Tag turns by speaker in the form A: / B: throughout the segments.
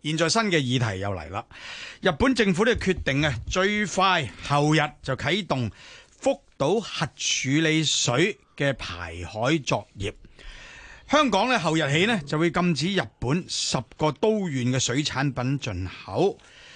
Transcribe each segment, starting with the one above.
A: 現在新嘅議題又嚟啦。日本政府呢決定最快後日就啟動福島核處理水嘅排海作業。香港呢後日起呢就會禁止日本10個都縣嘅水產品進口。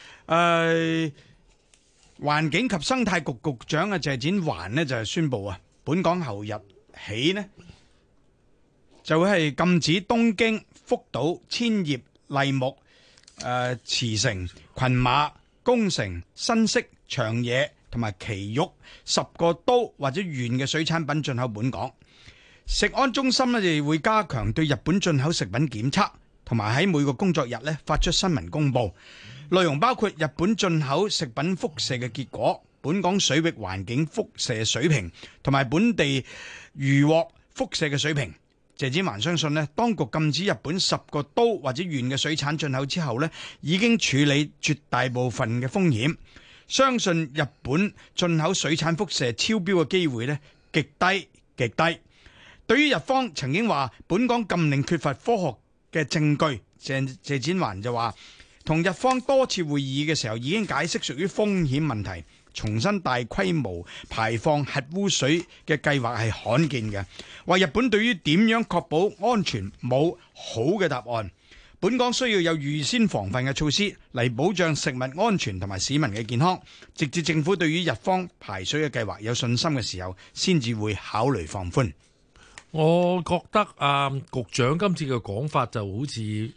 A: 環境及生態局局長謝展寰呢就宣布本港後日起呢就會係禁止東京、福島、千葉、麗木、茨城、群馬、宮城、新潟、長野同埋埼玉10個都或者縣嘅水產品進口本港。食安中心呢就會加強對日本進口食品檢測，同埋喺每個工作日呢發出新聞公佈，內容包括日本進口食品輻射嘅結果、本港水域環境輻射水平同埋本地漁獲輻射嘅水平。謝展寰相信呢，當局禁止日本10個都或者縣嘅水產進口之後呢，已經處理絕大部分嘅風險，相信日本進口水產輻射超標嘅機會呢極低極低。對於日方曾經話本港禁令缺乏科學嘅證據，謝展寰就話同日方多次會議嘅時候已經解釋屬於風險問題，重新大規模排放核污水嘅計劃係罕見嘅，話日本對於點樣確保安全冇好嘅答案。本港需要有預先防範嘅措施嚟保障食物安全同埋市民嘅健康，直至政府對於日方排水嘅計劃有信心嘅時候，先至會考慮放寬。
B: 我覺得局長今次嘅講法就好似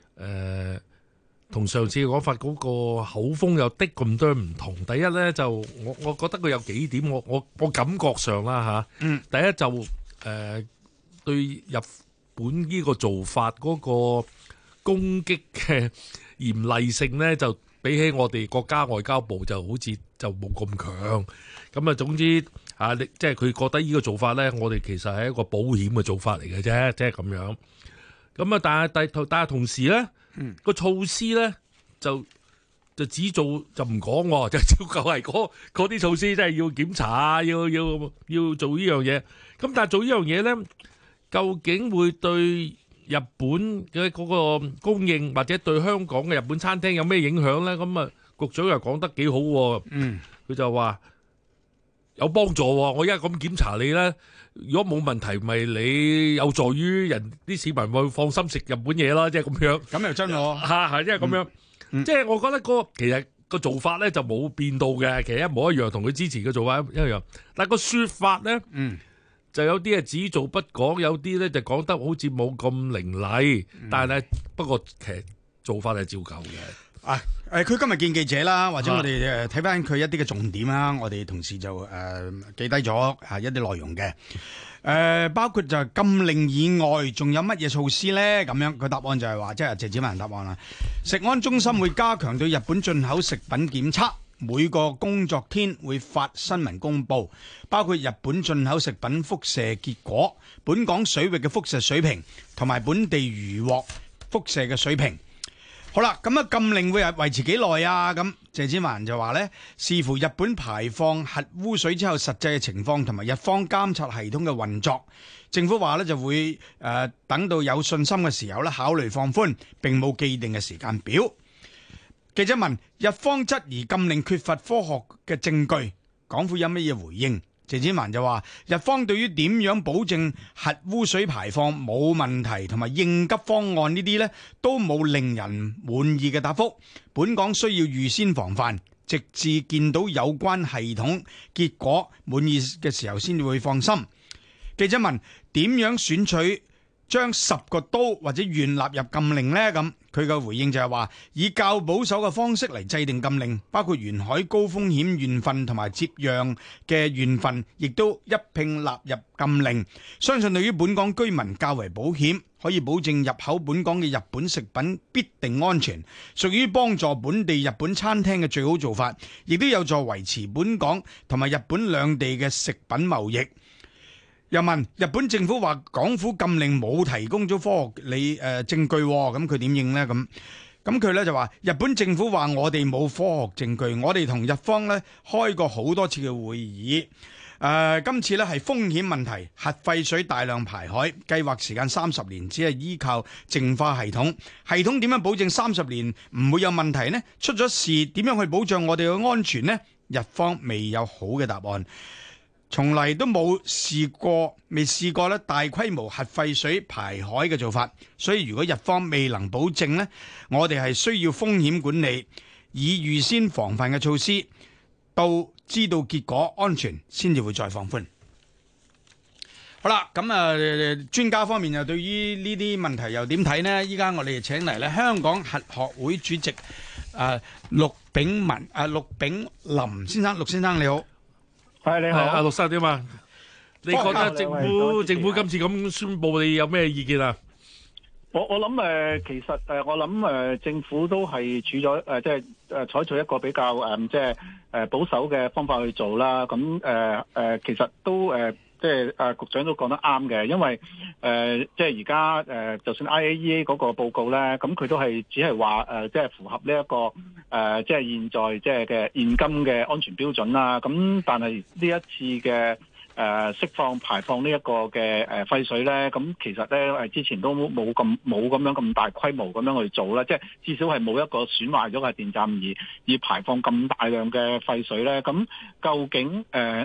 B: 同上次嘅講法嗰個口風有啲咁多唔同。第一呢，就我覺得佢有幾點，我感覺上啦第一就對日本呢個做法嗰個攻擊嘅嚴厲性呢，就比起我哋國家外交部就好似就冇咁強。咁總之即係佢覺得呢個做法呢，我哋其實係一個保險嘅做法嚟嘅啫，即係咁樣。咁但係同時呢，個措施呢就只做就唔講，就照舊係嗰啲措施，即係要檢查要做呢樣嘢。咁但係做呢樣嘢呢，究竟會對日本嘅嗰個供應或者對香港嘅日本餐廳有咩影響呢？咁局長又講得幾好，佢就話有幫助。我而家咁檢查你呢，如果冇問題，咪你有助於人啲市民會放心食日本嘢啦，即係咁樣。咁又真係即係咁樣。即係我覺得其實個做法呢就冇變到嘅，其實一模一樣，同佢之前嘅做法一樣。但係個說法呢，就有啲係只做不講，有啲呢就講得好似冇咁凌厲。但係不過其實做法係照舊嘅。
A: 佢今日見記者啦，或者我哋睇翻佢一啲嘅重點啦，我哋同事就記低咗一啲內容嘅。包括就係禁令以外，仲有乜嘢措施呢？咁樣佢答案就係話，即係謝展寰答案啦。食安中心會加強對日本進口食品檢測，每個工作天會發新聞公佈，包括日本進口食品輻射結果、本港水域嘅輻射水平同埋本地漁獲輻射嘅水平。好啦，咁禁令會維持幾耐啊？咁謝展寰就話呢，視乎日本排放核污水之後實際嘅情況同埋日方監察系統嘅運作，政府話呢就會等到有信心嘅時候呢考慮放寬，並冇既定嘅時間表。記者問日方質疑禁令缺乏科學嘅證據，港府有乜嘢回應？謝展寰就話日方對於點樣保證核污水排放冇問題同埋應急方案呢啲呢都冇令人滿意嘅答覆，本港需要預先防範，直至見到有關系統結果滿意嘅時候先至會放心。記者問點樣選取將10個都或者縣納入禁令呢？咁佢嘅回應就係話以較保守嘅方式嚟制定禁令，包括沿海高風險縣份同埋接壤嘅縣份，亦都一併納入禁令。相信對於本港居民較為保險，可以保證入口本港嘅日本食品必定安全，屬於幫助本地日本餐廳嘅最好做法，亦都有助維持本港同埋日本兩地嘅食品貿易。又問日本政府話港府禁令冇提供咗科學證據，咁佢點應呢？咁佢咧就話日本政府話我哋冇科學證據，我哋同日方咧開過好多次嘅會議， 今次呢係風險問題，核廢水大量排海，計劃時間30年，只係依靠淨化系統。系統點樣保證30年唔會有問題呢？出咗事點樣去保障我哋嘅安全呢？日方未有好嘅答案，從嚟都未試過咧大規模核廢水排海嘅做法。所以如果日方未能保證呢，我哋係需要風險管理，以預先防範嘅措施，到知道結果安全先至會再放寬。好啦，咁專家方面又對於呢啲問題又點睇呢？依家我哋請嚟咧香港核學會主席陸炳林先生，陸先生你好。
C: 係你好，
B: 阿陸生點啊？你覺得政府今次咁宣佈，你有咩意見啊？
C: 我諗其實我諗政府都係處咗即係採取一個比較即係保守嘅方法去做啦。咁其實都即係局長都講得啱嘅，因為即係而家就算 IAEA 嗰個報告咧，咁佢都係只係話即係符合呢一個即係現在即係嘅現今嘅安全標準啦。咁但係呢一次嘅釋放排放呢一個嘅廢水咧，咁其實咧之前都冇咁樣咁大規模咁樣去做啦，即係至少係冇一個損壞咗嘅電站而排放咁大量嘅廢水咧。咁究竟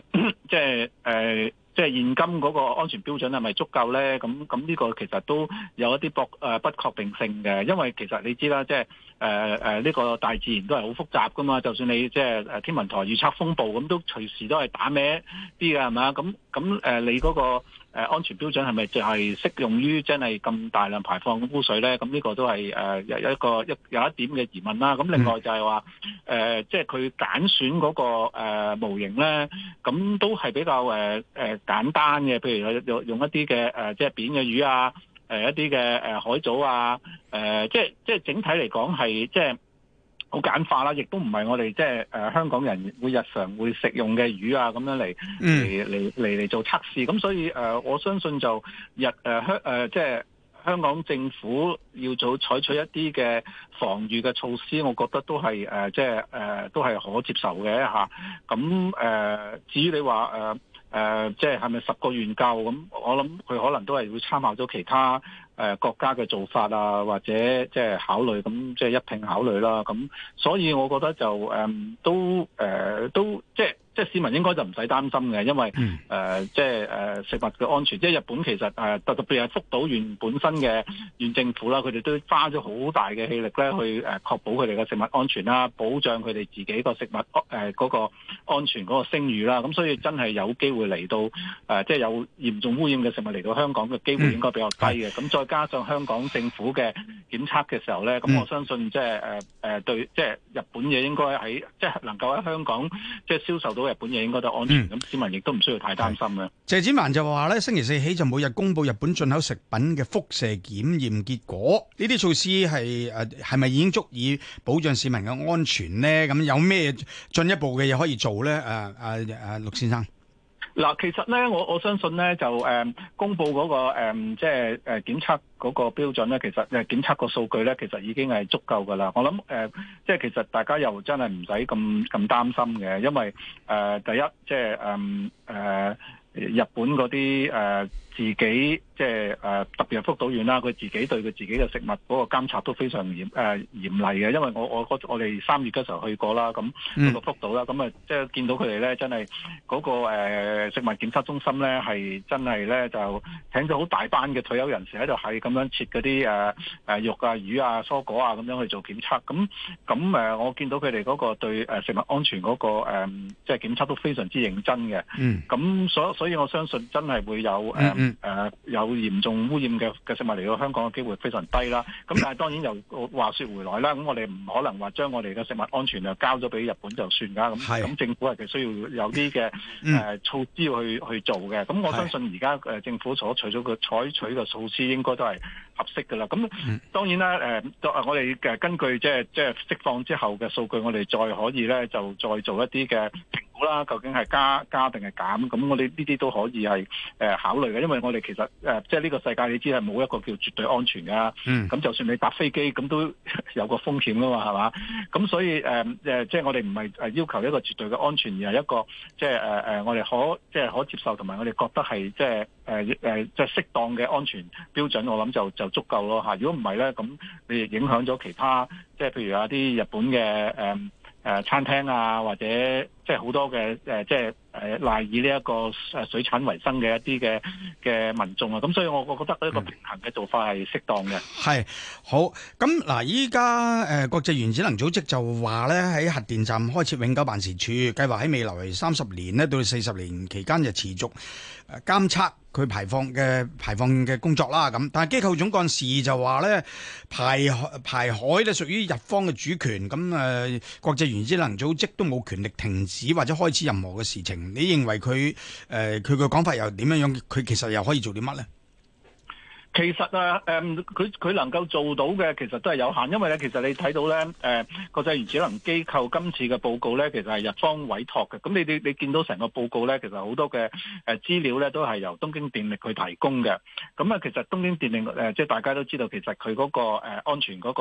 C: 即係現今嗰個安全標準係咪足夠咧？咁呢個其實都有一啲不確定性嘅，因為其實你知啦，即係呢個大自然都係好複雜噶嘛。就算你即係天文台預測風暴咁，都隨時都係打歪啲嘅，係咪啊？咁你嗰個安全標準係咪就係適用於真係咁大量排放污水咧？咁呢個都係有一點嘅疑問啦。咁另外就係話即係佢揀選嗰個模型咧，咁都係比較簡單嘅，譬如用一啲嘅即係扁嘅魚啊，一啲嘅海藻啊，即係整體嚟講係即係好簡化啦，亦都唔係我哋即係香港人日常會食用嘅魚啊咁樣嚟做測試。咁所以我相信就即係香港政府要採取一啲嘅防禦嘅措施，我覺得都係即係都係可接受嘅嚇。咁至於你話即係咪10個願夠？咁我諗佢可能都係會參考咗其他國家嘅做法啊，或者即係考慮，咁即係一併考慮啦。咁所以我覺得就都即係市民應該就唔使擔心嘅，因為即係食物嘅安全，即係日本其實特別係福島縣本身嘅縣政府啦，佢哋都花咗好大嘅氣力咧去確保佢哋嘅食物安全啦，保障佢哋自己個食物嗰個安全嗰個聲譽啦。咁所以真係有機會嚟到即係有嚴重污染嘅食物嚟到香港嘅機會應該比較低嘅。咁再加上香港政府嘅檢測嘅時候咧，咁我相信即係對即係日本嘢應該喺即係能夠喺香港即係銷售到日本嘢應該都安全，咁市民亦都唔需要太擔心嘅。
A: 謝展寰就話咧，星期4起就每日公布日本進口食品嘅輻射檢驗結果，呢啲措施係咪已經足以保障市民嘅安全呢？咁有咩進一步嘅嘢可以做咧？陸先生。
C: 嗱，其實咧，我相信咧，就公布嗰個即係檢測嗰個標準咧，其實檢測個數據咧，其實已經係足夠噶啦。我諗即係其實大家又真係唔使咁擔心嘅，因為第一即係日本嗰啲自己即係特別係福島縣啦，佢自己對佢自己嘅食物嗰個監察都非常嚴厲嘅。因為我哋3月嗰時候去過啦，咁嗰個福島啦，咁即係見到佢哋咧，真係嗰個食物檢測中心咧，係真係咧就請咗好大班嘅退休人士喺度，係咁樣切嗰啲肉啊、魚啊、蔬果啊咁樣去做檢測。咁我見到佢哋嗰個對食物安全嗰個即係檢測都非常之認真嘅。咁所以我相信真係會有有嚴重污染嘅食物嚟到香港嘅機會非常低啦。咁但係當然又話說回來啦，咁我哋唔可能話將我哋嘅食物安全就交咗俾日本就算㗎。咁政府係需要有啲嘅措施去做嘅。咁我相信而家政府所採取嘅措施應該都係合適㗎啦。咁當然啦，我哋根據即係釋放之後嘅數據，我哋再可以咧就再做一啲嘅評估啦，究竟係加定係減，咁我哋呢啲都可以係考慮嘅，因為我哋其實即係呢個世界你知係冇一個叫絕對安全㗎，咁就算你搭飛機咁都有個風險㗎嘛，係嘛？咁所以即係我哋唔係要求一個絕對嘅安全，而係一個即係我哋可接受同埋我哋覺得係即係即係適當嘅安全標準，我諗就足夠咯嚇。如果唔係咧，咁你亦影響咗其他，即係譬如有啲日本嘅餐廳啊，或者即係好多嘅即係賴以呢一個水產為生嘅一啲嘅民眾啊，咁所以我覺得呢個平衡嘅做法係適當嘅。
A: 係好咁嗱，依家國際原子能組織就話咧，喺核電站開設永久辦事處，計劃喺未來30年呢到40年期間就持續監測佢排放嘅工作啦。咁但係機構總幹事就話咧，排海咧屬於日方嘅主權，咁國際原子能組織都冇權力停止或者開始任何嘅事情。你認為佢嘅講法又點樣樣？佢其實又可以做啲乜咧？
C: 其實佢能夠做到嘅其實都係有限，因為咧，其實你睇到咧，國際原子能機構今次嘅報告咧，其實係日方委託嘅。咁你見到成個報告咧，其實好多嘅資料咧都係由東京電力去提供嘅。咁其實東京電力即係大家都知道，其實佢嗰個安全嗰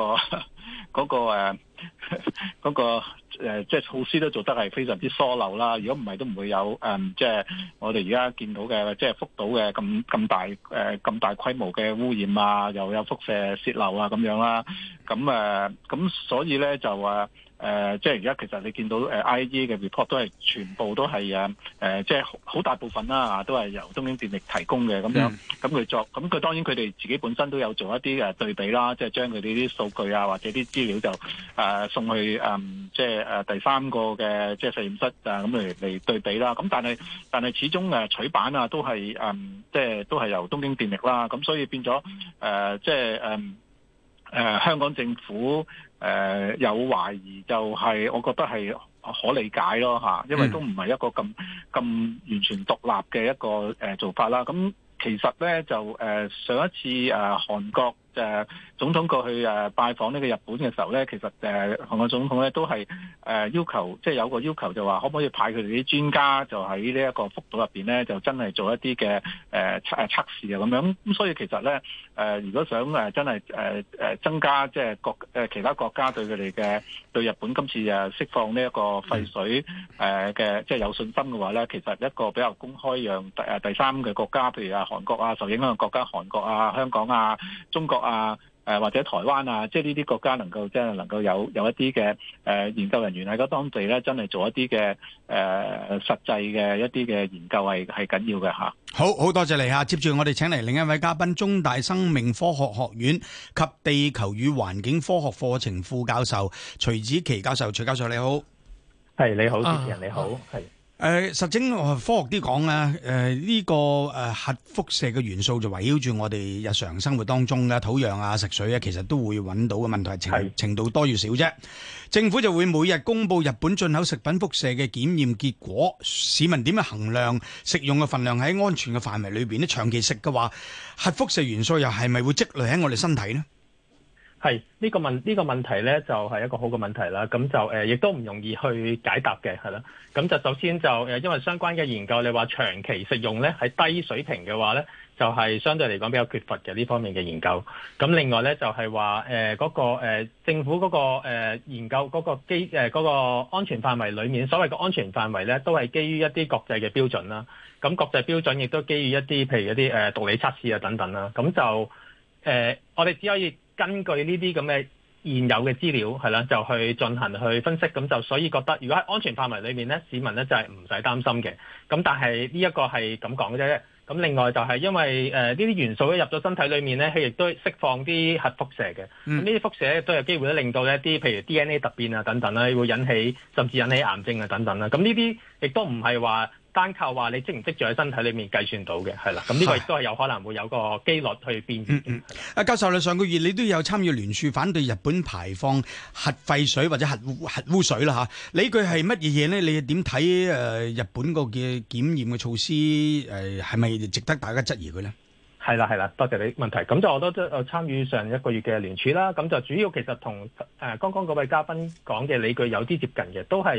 C: 個即係措施都做得係非常之疏漏啦。如果唔係都唔會有即係我哋而家見到嘅即係福島嘅咁大規模嘅污染啊，又有輻射泄漏啊咁樣啦。咁所以咧就即係而家其實你見到IAEA 嘅 report 都係全部都係即係好大部分啦，都係由東京電力提供嘅咁樣。咁佢當然佢哋自己本身都有做一啲對比啦，即係將佢哋啲數據啊或者啲資料就送去即係第三個嘅即係實驗室咁嚟對比啦。咁但係始終取版啊都係即係都係由東京電力啦。咁所以變咗即係香港政府有懷疑，就係我覺得係可理解咯嚇，因為都唔係一個咁完全獨立嘅一個做法啦。咁其實咧就上一次韓國總統過去拜訪呢個日本嘅時候咧，其實韓國總統咧都係要求，即係有個要求就話可唔可以派佢哋啲專家就喺呢一個福島入邊咧，就真係做一啲嘅測試啊咁樣。咁所以其實咧如果想真係增加即係其他國家對佢哋嘅對日本今次釋放呢一個廢水嘅即係有信心嘅話咧，其實一個比較公開讓第三嘅國家，譬如韓國啊，受影響嘅國家，韓國啊、香港啊、中國啊或者台灣啊，即係呢啲國家能夠有一啲嘅研究人員喺嗰當地咧，真係做一啲嘅實際嘅一啲嘅研究係緊要嘅嚇。好
A: 多謝你嚇，接住我哋請嚟另一位嘉賓，中大生命科學學院及地球與環境科學課程副教授徐子淇教授。徐教授你好。
D: 係你好，主持人你好。係
A: 實證科學啲講咧，呢個核輻射嘅元素就圍繞住我哋日常生活當中嘅土壤啊、食水啊，其實都會揾到嘅問題程度多與少啫。政府就會每日公布日本進口食品輻射嘅檢驗結果，市民點樣衡量食用嘅份量喺安全嘅範圍裏邊咧？長期食嘅話，核輻射元素又係咪會積累喺我哋身體呢？
D: 係呢個問題咧，就係一個好嘅問題啦。咁就亦都唔容易去解答嘅，係啦。咁就首先就因為相關嘅研究，你話長期食用咧係低水平嘅話咧，就係相對嚟講比較缺乏嘅呢方面嘅研究。咁另外咧就係話嗰個政府嗰個研究嗰個嗰個安全範圍裏面，所謂嘅安全範圍咧，都係基於一啲國際嘅標準啦。咁國際標準亦都基於一啲譬如一啲毒理測試啊等等啦。咁就我哋只可以根據呢啲咁嘅現有嘅資料係啦，就去進行去分析，咁就所以覺得如果喺安全範圍裏面咧，市民咧就係唔使擔心嘅。咁但係呢一個係咁講嘅啫。咁另外就係因為呢啲元素一入咗身體裏面咧，佢亦都釋放啲核輻射嘅。咁呢啲輻射都有機會咧令到一啲譬如 DNA 突變啊等等啦，會甚至引起癌症啊等等啦。咁呢啲亦都唔係話單靠話你積唔積住喺身體裏面計算到嘅，係啦。咁呢個亦都係有可能會有個機率去變異。
A: 教授，你上個月你都有參與聯署反對日本排放核廢水或者核污水啦嚇，理據係乜嘢嘢呢？你點睇日本個嘅檢驗嘅措施係咪值得大家質疑佢呢？
D: 係啦，多謝你問題。咁就我都參與上一個月嘅聯署啦。咁就主要其實同剛剛嗰位嘉賓講嘅理據有啲接近嘅，都係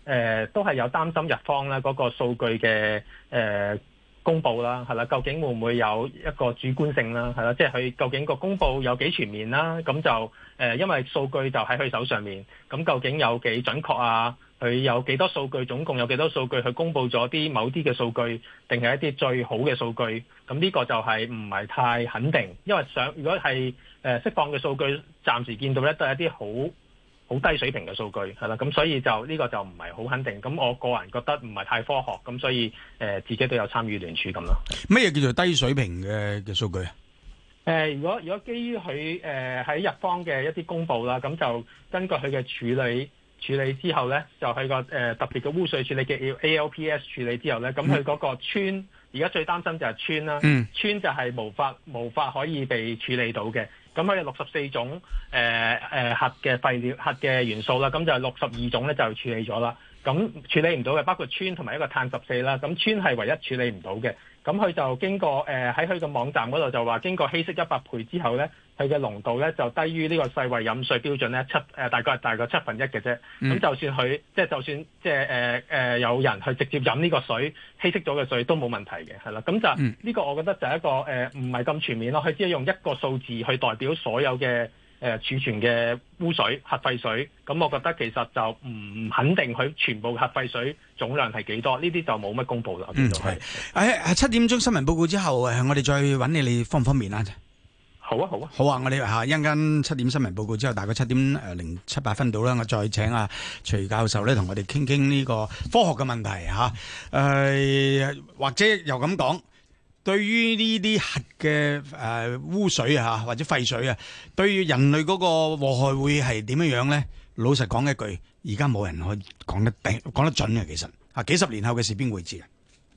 D: 都係有擔心日方咧嗰個數據嘅公佈啦，係啦，究竟會唔會有一個主觀性啦，係啦，即係佢究竟個公佈有幾全面啦？咁就因為數據就喺佢手上面，咁究竟有幾準確啊？佢有幾多數據？總共有幾多數據？佢公佈咗啲某啲嘅數據，定係一啲最好嘅數據？咁呢個就係唔係太肯定，因為如果係釋放嘅數據，暫時見到咧都係一啲好低水平嘅數據，係啦，咁所以就呢個就唔係好肯定。咁我個人覺得唔係太科學，咁所以自己都有參與聯署咁咯。
A: 乜嘢叫做低水平嘅數據啊？
D: 如果基於佢喺日方嘅一啲公佈啦，咁就根據佢嘅處理之後咧，就係個特別嘅污水處理嘅 ALPS 處理之後咧，咁佢嗰個氚而家最擔心就係氚啦，氚就係無法可以被處理到嘅。咁佢有64種核嘅廢料、核嘅元素啦，咁就62種咧就處理咗啦。咁處理唔到嘅包括氚同埋一個碳14啦。咁氚係唯一處理唔到嘅。咁佢就經過喺佢個網站嗰度就話，經過稀釋100倍之後咧，佢嘅濃度咧就低於呢個世衛飲水標準咧大概1/7嘅啫。咁就算佢就算有人去直接飲呢個水稀釋咗嘅水都冇問題嘅，係啦。咁就呢個我覺得就係一個唔係咁全面咯。佢只係用一個數字去代表所有嘅儲存嘅污水、核廢水。咁我覺得其實就唔肯定佢全部核廢水總量係幾多，呢啲就冇乜公佈啦。
A: 係7點鐘新聞報告之後，我哋再揾你方唔方便啊？
D: 好啊。
A: 好啊！我哋一陣間7點新聞報告之後，大概7點07、8分到啦，我再請徐教授咧同我哋傾傾呢個科學嘅問題嚇。或者又咁講，對於呢啲核嘅污水或者廢水對於人類嗰個禍害會係點樣咧？老實講一句，而家冇人可以講得準嘅。其實幾十年後嘅事邊會知啊？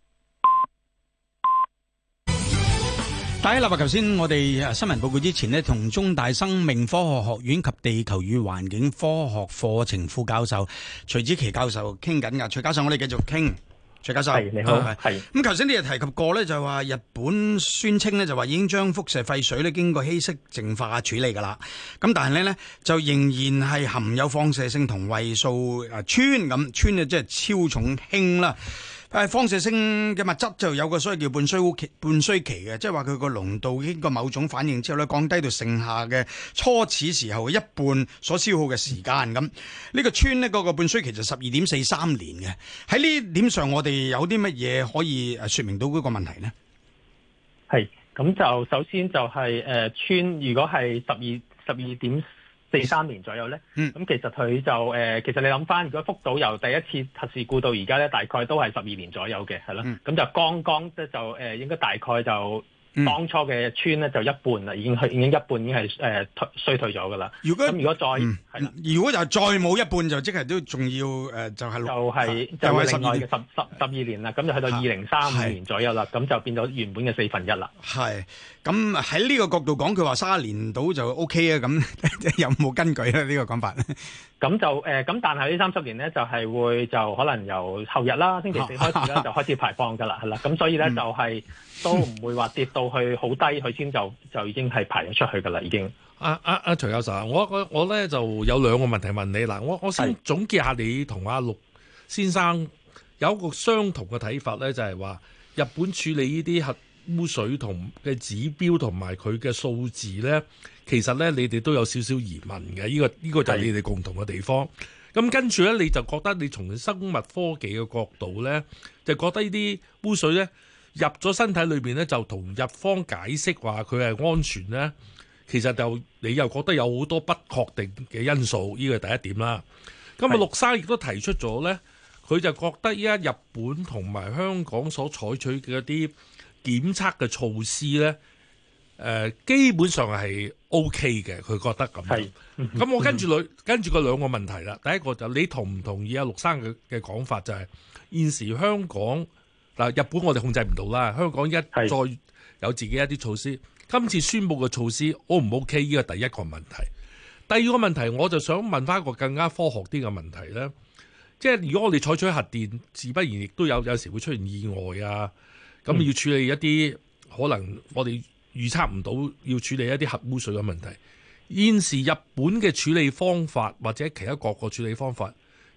A: 大家立頭先，我哋新聞報告之前呢，同中大生命科學學院及地球與環境科學課程副教授徐子淇教授傾緊㗎。徐教授，我哋繼續傾。徐教授，
D: 係你好，係。
A: 咁頭先你又提及過咧，就話日本宣稱咧，就話已經將輻射廢水咧經過稀釋淨化處理㗎啦。咁但係咧就仍然係含有放射性同位素氚咁，氚即係超重氫啦。放射性嘅物質就有個所謂叫半衰期嘅，即係話佢個濃度經過某種反應之後咧，降低到剩下嘅初始時候嘅一半所消耗嘅時間咁。呢個氚呢，嗰個半衰期就12.43年嘅。喺呢點上，我哋有啲乜嘢可以說明到嗰個問題呢？係
D: 咁就首先就係氚，如果係12.43年左右咧，咁其實佢就其實你諗翻，如果福島由第一次核事故到而家咧，大概都係12年左右嘅，係咯，咁就剛剛即係就應該大概就當初嘅氚咧就一半啦，已經一半已經係衰退咗噶啦。如果再
A: 如果就再冇一半，就即係都仲要就係
D: 另外嘅12年啦，咁就去到2035年左右啦，咁就變咗原本嘅1/4啦。係。
A: 咁喺呢個角度講，佢話30年到就 OK 啊，咁有冇根據咧？呢個講法
D: 咁就咁但係呢30年咧就係會就可能由後日啦，星期4開始啦就開始排放噶啦，係啦，咁所以咧就係都唔會話跌到去好低，佢先就已經係排咗出去噶啦，已經。
B: 徐教授，我咧就有兩個問題問你嗱，我先總結下你同阿陸先生有一個相同嘅睇法咧，就係話日本處理呢啲核污水同嘅指標同埋佢嘅數字咧，其實咧你哋都有少少疑問嘅，呢個就係你哋共同嘅地方。咁跟住咧，你就覺得你從生物科技嘅角度咧，就覺得呢啲污水咧入咗身體裏邊咧，就同日方解釋話佢係安全咧，其實就你又覺得有好多不確定嘅因素，呢個係第一點啦。咁陸生亦都提出咗咧，佢就覺得依家日本同埋香港所採取嘅一啲檢測嘅措施咧，基本上係 OK 嘅，佢覺得咁。咁我跟住個兩個問題啦。第一個就你同唔同意阿陸生嘅講法，就係現時香港嗱，日本我哋控制唔到啦，香港一再有自己一啲措施。今次宣布嘅措施 O 唔 OK？ 呢個第一個問題。第二個問題，我就想問翻一個更加科學啲嘅問題咧，即係如果我哋採取核電，自不然亦都有時會出現意外啊。咁要處理一啲可能我哋預測唔到，要處理一啲核污水嘅問題。現時日本嘅處理方法或者其他各個處理方法，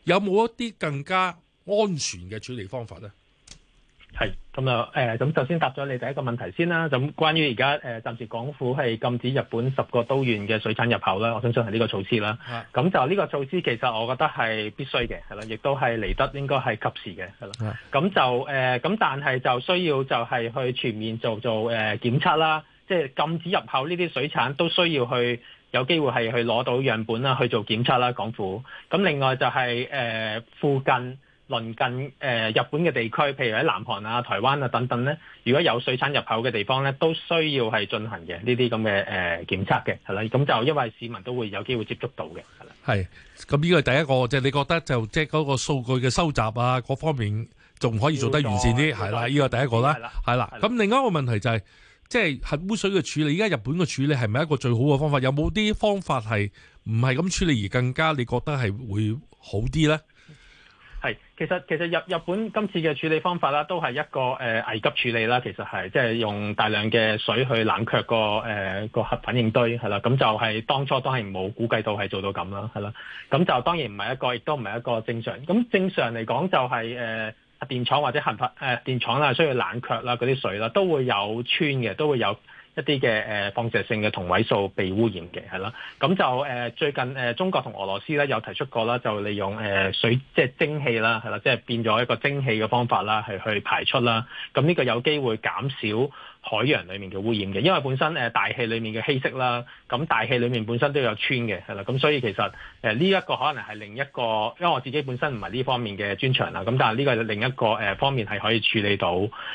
B: 有冇一啲更加安全嘅處理方法咧？
D: 係咁啊，咁首先答咗你第一個問題先啦。咁關於而家暫時港府係禁止日本10個都縣嘅水產入口啦，我相信係呢個措施啦。咁就呢個措施其實我覺得係必須嘅，係啦，亦都係嚟得應該係及時嘅，係啦。咁就咁但係就需要就係去全面做檢測啦，即係禁止入口呢啲水產都需要去有機會係去攞到樣本啦，去做檢測啦，港府。咁另外就係附近鄰近日本嘅地區，譬如喺南韓啊、台灣啊等等咧，如果有水產入口嘅地方咧，都需要係進行嘅呢啲咁嘅檢測嘅，係啦。咁就因為市民都會有機會接觸到嘅，係啦。係，
B: 咁呢個係第一個，即係你覺得就即係嗰個數據嘅收集啊，各方面仲可以做得完善啲，係啦。呢個第一個啦，係啦。咁另外一個問題就係，即係核污水嘅處理，而家日本嘅處理係咪一個最好嘅方法？有冇啲方法係唔係咁處理而更加你覺得係會好啲咧？
D: 係，其實日本今次嘅處理方法啦，都係一個危急處理啦。其實係即係用大量嘅水去冷卻個核反應堆係啦。咁就係當初都係冇估計到係做到咁啦，係啦。咁就當然唔係一個，亦都唔係一個正常。咁正常嚟講就係核電廠或者核電廠啦，需要冷卻啦，嗰啲水啦都會有氚嘅，都會有一啲嘅放射性嘅同位素被污染嘅，係啦。咁就最近中國同俄羅斯咧有提出過啦，就利用水即係蒸汽啦，係啦，即係變咗一個蒸汽嘅方法啦，係去排出啦。咁呢個有機會減少海洋裡面嘅污染嘅，因為本身大氣裡面嘅稀釋啦，咁大氣裡面本身都有氚嘅，係啦。咁所以其實呢一個可能係另一個，因為我自己本身唔係呢方面嘅專長啦，咁但係呢個係另一個方面係可以處理到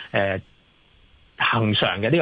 D: 恒常嘅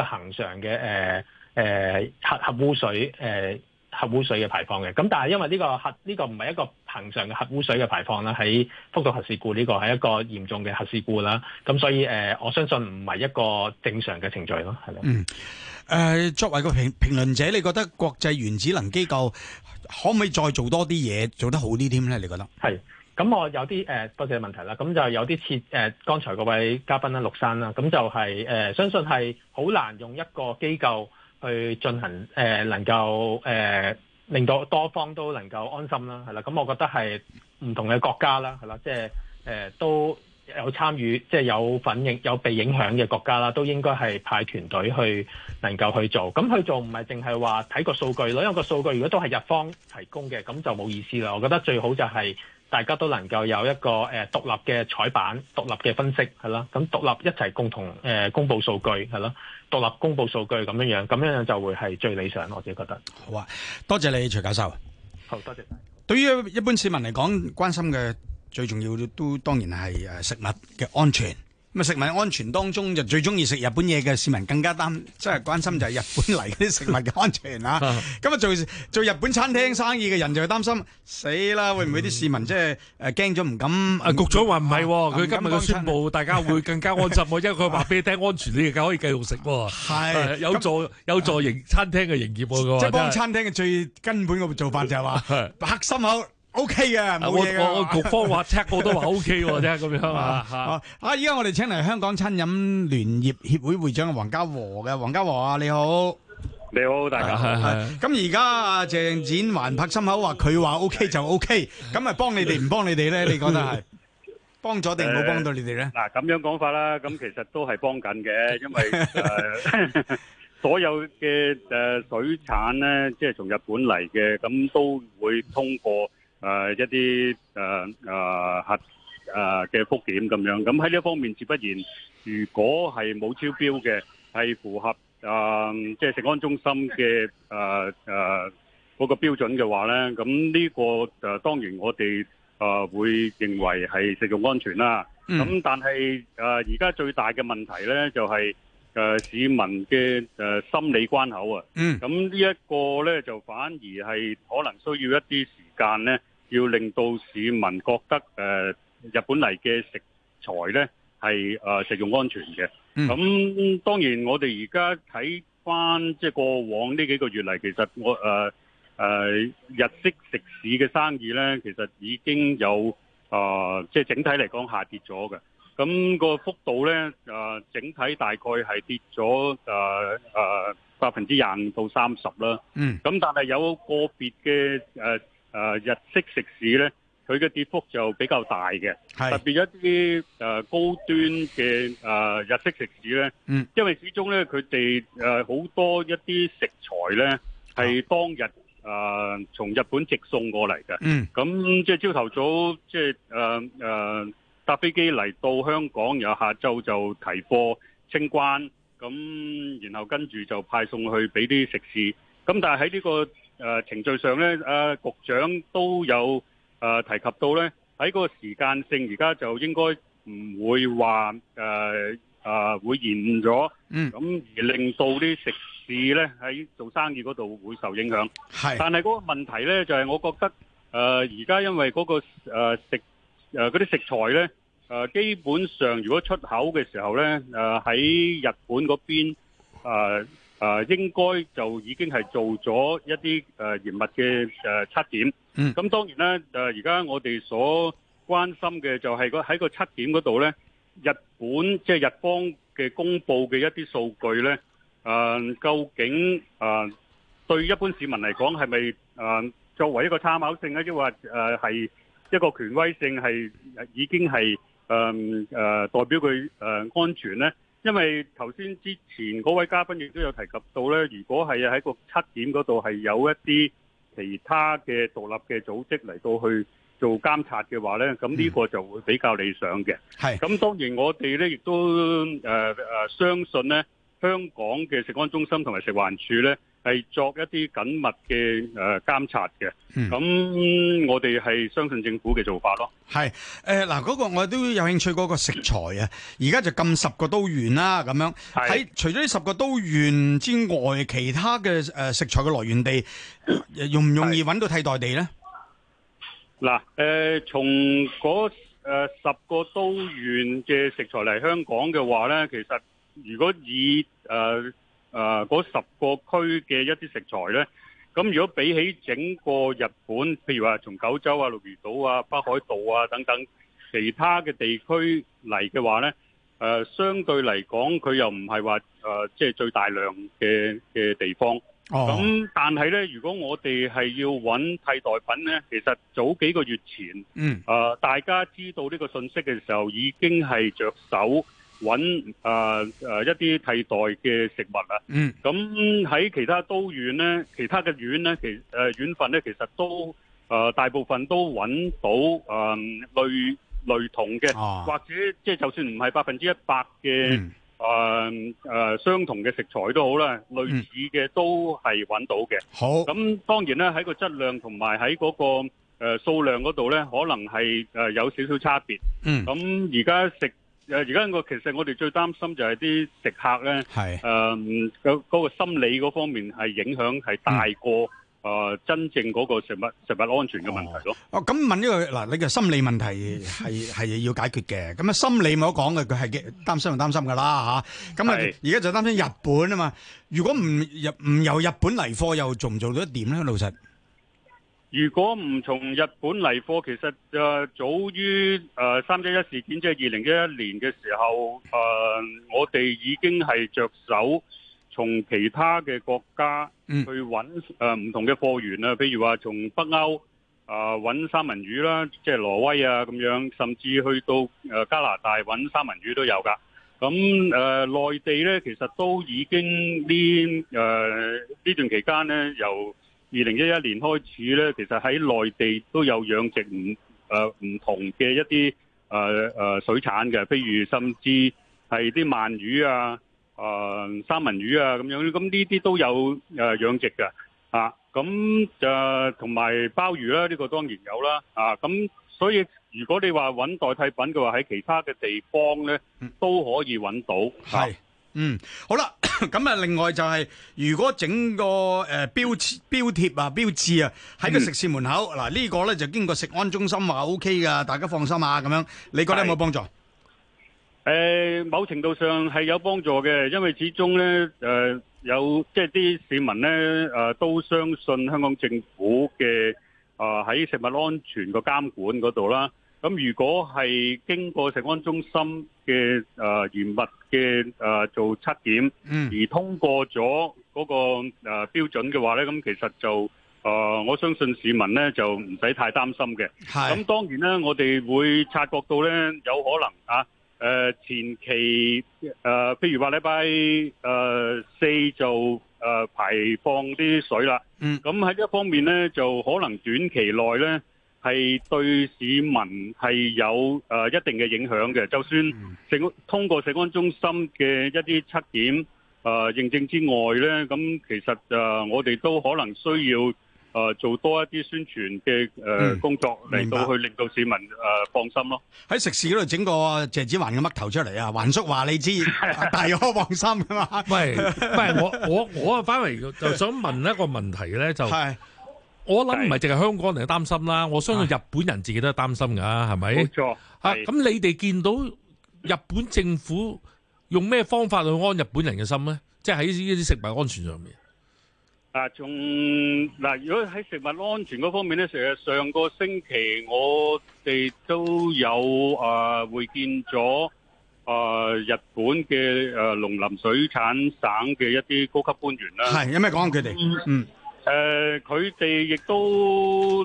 D: 核污水嘅排放嘅。咁但係因為呢個唔係一個恒常嘅核污水嘅排放啦，喺福島核事故呢個係一個嚴重嘅核事故啦，咁所以我相信唔係一個正常嘅程序咯，係咯。
A: 作為個評論者，你覺得國際原子能機構可唔可以再做多啲嘢，做得好啲添咧？你覺得？係。
D: 咁我有啲多謝問題啦，咁就有啲似剛才嗰位嘉賓啦，陸生啦，咁就係相信係好難用一個機構去進行能夠令到多方都能夠安心啦，係啦。咁我覺得係唔同嘅國家啦，係啦，即係都有參與，即係有被影響嘅國家啦，都應該係派團隊去能夠去做。咁去做唔係淨係話睇個數據咯，因為個數據如果都係日方提供嘅，咁就冇意思啦。我覺得最好就係大家都能夠有一個獨立嘅採版、獨立嘅分析係啦，咁獨立一齊共同公佈數據係咯，獨立公佈數據咁樣就會係最理想，我自己覺得。
A: 好啊，多謝你徐教授。
D: 好，多謝晒。
A: 對於一般市民嚟講，關心嘅最重要都當然係食物嘅安全。咁啊，食物安全當中就最中意食日本嘢嘅市民更加即係關心就係日本嚟嗰啲食物嘅安全啊！咁啊，做日本餐廳生意嘅人就擔心死啦，會唔會啲市民即係驚咗唔敢？
B: 局長話唔係，佢今日嘅宣佈，大家會更加安心，因為佢話俾你聽安全，你而家可以繼續食。係有助餐廳嘅營業。
A: 即係幫餐廳嘅最根本嘅做法就係話拍心口。O K 嘅，冇嘢嘅。
B: 我局方話 check 過都話 O K 喎，啫咁樣啊。
A: 依家我哋請嚟香港餐飲聯業協會會長黃家和嘅，黃家和啊，你好。
E: 你好，大家好。
A: 咁而家阿鄭展寰拍心口話佢話 O K 就 O K，咁啊幫你哋唔幫你哋咧？你覺得係幫咗定冇幫到你哋咧？
E: 嗱，咁樣講法啦，咁其實都係幫緊嘅，因為所有嘅水產咧，即係從日本嚟嘅，咁都會通過一啲核嘅復檢咁樣。咁喺呢一方面，自不然，如果係冇超標嘅，係符合即係食安中心嘅嗰個標準嘅話咧，咁呢個當然我哋會認為係食用安全啦。咁但係而家最大嘅問題咧，就係市民嘅心理關口啊。咁呢一個咧，就反而係可能需要一啲時間咧，要令到市民覺得日本嚟嘅食材咧係食用安全嘅。咁當然我哋而家睇翻即係過往呢幾個月嚟，其實我日式食肆嘅生意咧，其實已經有即係整體嚟講下跌咗嘅。咁個幅度咧，整體大概係跌咗25%到30%啦。咁但係有個別嘅日式食肆咧，佢佢嘅跌幅就比較大嘅，
A: 係
E: 特別一啲高端嘅日式食肆咧，因為始終咧佢哋好多一啲食材咧係當日從日本直送過嚟嘅，咁即係朝頭早即係搭飛機嚟到香港，然後下晝就提貨清關，咁然後跟住就派送去俾啲食肆，咁但係喺呢個程序上咧，局長都有提及到咧，喺個時間性而家就應該唔會話會延誤咗，咁而令到啲食肆咧喺做生意嗰度會受影響。係，但係嗰個問題咧就係，我覺得而家因為嗰個嗰啲食材咧，基本上如果出口嘅時候咧，喺日本嗰邊應該就已經係做咗一啲嚴密嘅測檢。咁當然啦，而家我哋所關心嘅就係喺個測檢嗰度咧，日本即係日方嘅公佈嘅一啲數據咧，究竟對一般市民嚟講係咪作為一個參考性咧，抑或係一個權威性係已經係代表佢安全咧？因為頭先之前嗰位嘉賓亦都有提及到咧，如果係喺個測檢嗰度係有一啲其他嘅獨立嘅組織嚟到去做監察嘅話咧，咁呢個就會比較理想嘅。係，咁當然我哋咧亦都相信咧，香港嘅食安中心同埋食環署咧係作一啲緊密嘅監察嘅。咁我哋係相信政府嘅做法咯。係
A: 嗱，嗰個我都有興趣嗰個食材啊，而家就禁10個都縣啦，咁樣喺除咗呢10個都縣之外，其他嘅食材嘅來源地容唔容易揾到替代地咧？
E: 嗱，從嗰10個都縣嘅食材嚟香港嘅話咧，其實如果以嗰10個區嘅一啲食材咧，咁如果比起整個日本，譬如話從九州啊、鹿兒島啊、北海道啊等等其他嘅地區嚟嘅話咧，相對嚟講佢又唔係話即係最大量嘅地方。咁但係咧，如果我哋係要揾替代品咧，其實早幾個月前，大家知道呢個信息嘅時候，已經係着手揾一啲替代嘅食物啦。咁喺其他都縣咧，其他嘅縣咧，縣份咧，其實都大部分都揾到類同嘅，或者即係就算唔係100%嘅相同嘅食材都好啦，類似嘅都係揾到嘅。好，咁當然咧喺個質量同埋喺嗰個數量嗰度咧，可能係有少少差別。咁而家其實我哋最擔心就係啲食客咧，嗰個心理嗰方面係影響係大過真正嗰個食物安全嘅問題咯。
A: 咁問呢個嗱，你嘅心理問題係要解決嘅。咁心理冇得講嘅，佢係擔心就擔心噶啦嚇。咁而家就擔心日本啊嘛。如果唔由日本嚟貨，又做唔做到一點咧？老實，
E: 如果唔從日本嚟貨，其實早於311事件，即係2011年嘅時候，我哋已經係着手從其他嘅國家去揾唔同嘅貨源啊，譬如話從北歐揾三文魚啦，即係挪威啊咁樣，甚至去到加拿大揾三文魚都有㗎。咁內地咧，其實都已經呢段期間咧，由2011年開始咧，其實喺內地都有養殖唔同嘅一啲水產嘅，譬如甚至係啲鰻魚啊、三文魚啊咁樣，咁呢啲都有養殖嘅咁同埋鮑魚啦，呢個當然有啦咁所以如果你話揾代替品嘅話，喺其他嘅地方咧都可以揾到。係。
A: 好啦，咁啊，另外就係如果整個標貼啊、標誌啊喺個食肆門口，嗱呢個咧就經過食安中心話 OK 噶，大家放心啊，咁樣你覺得有冇幫助？
E: 某程度上係有幫助嘅，因為始終咧有即係啲市民咧都相信香港政府嘅喺食物安全個監管嗰度啦。咁如果係經過食安中心嘅嚴密嘅做測檢，而通過咗嗰個標準嘅話咧，咁其實就我相信市民咧就唔使太擔心嘅。咁當然咧，我哋會察覺到咧有可能前期譬如話禮拜4就排放啲水啦。咁喺呢一方面咧，就可能短期內咧係對市民係有一定嘅影響嘅。就算通過食安中心嘅一啲測檢認證之外咧，咁其實我哋都可能需要做多一啲宣傳嘅工作嚟到去令到市民放心咯。
A: 喺食肆嗰度整個謝子環嘅嘜頭出嚟啊！環叔話你知，大可放心噶嘛。唔係
B: 我反為就想問一個問題咧，就我諗唔係淨係香港人擔心啦，我相信日本人自己都係擔心㗎，係咪？
E: 冇錯。
B: 咁你哋見到日本政府用咩方法去安日本人嘅心咧？即係喺呢啲食物安全上面。
E: 如果喺食物安全嗰方面咧，其實上個星期我哋都有會見咗日本嘅農林水產省嘅一啲高級官員啦。
A: 係有咩講佢哋？
E: 佢哋亦都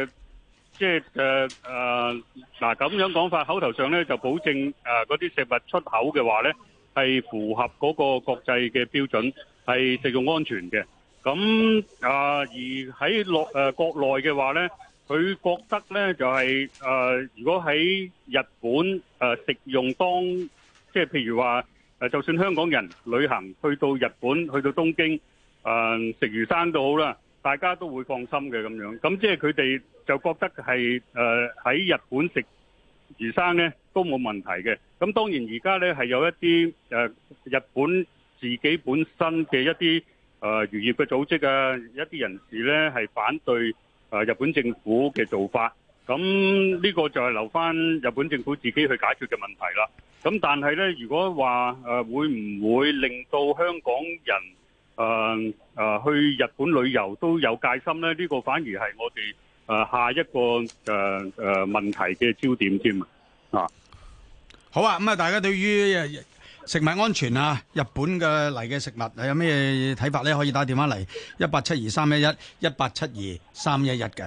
E: 咁樣講法，口頭上咧就保證嗰啲食物出口嘅話咧係符合嗰個國際嘅標準，係食用安全嘅。咁而喺國內嘅話咧，佢覺得咧就係如果喺日本食用即係譬如話就算香港人旅行去到日本去到東京食魚生都好啦，大家都會放心嘅咁樣。咁即係佢哋就覺得係喺日本食魚生咧都冇問題嘅。咁當然而家咧係有一啲日本自己本身嘅一啲漁業嘅組織一啲人士咧係反對日本政府嘅做法，咁呢個就係留翻日本政府自己去解決嘅問題啦。咁但係咧，如果話會唔會令到香港人去日本旅遊都有戒心咧？呢個反而係我哋下一個問題嘅焦點添啊！
A: 好啊，咁大家對於食物安全日本嘅嚟嘅食物有咩睇法咧？可以打電話嚟187231187231嘅。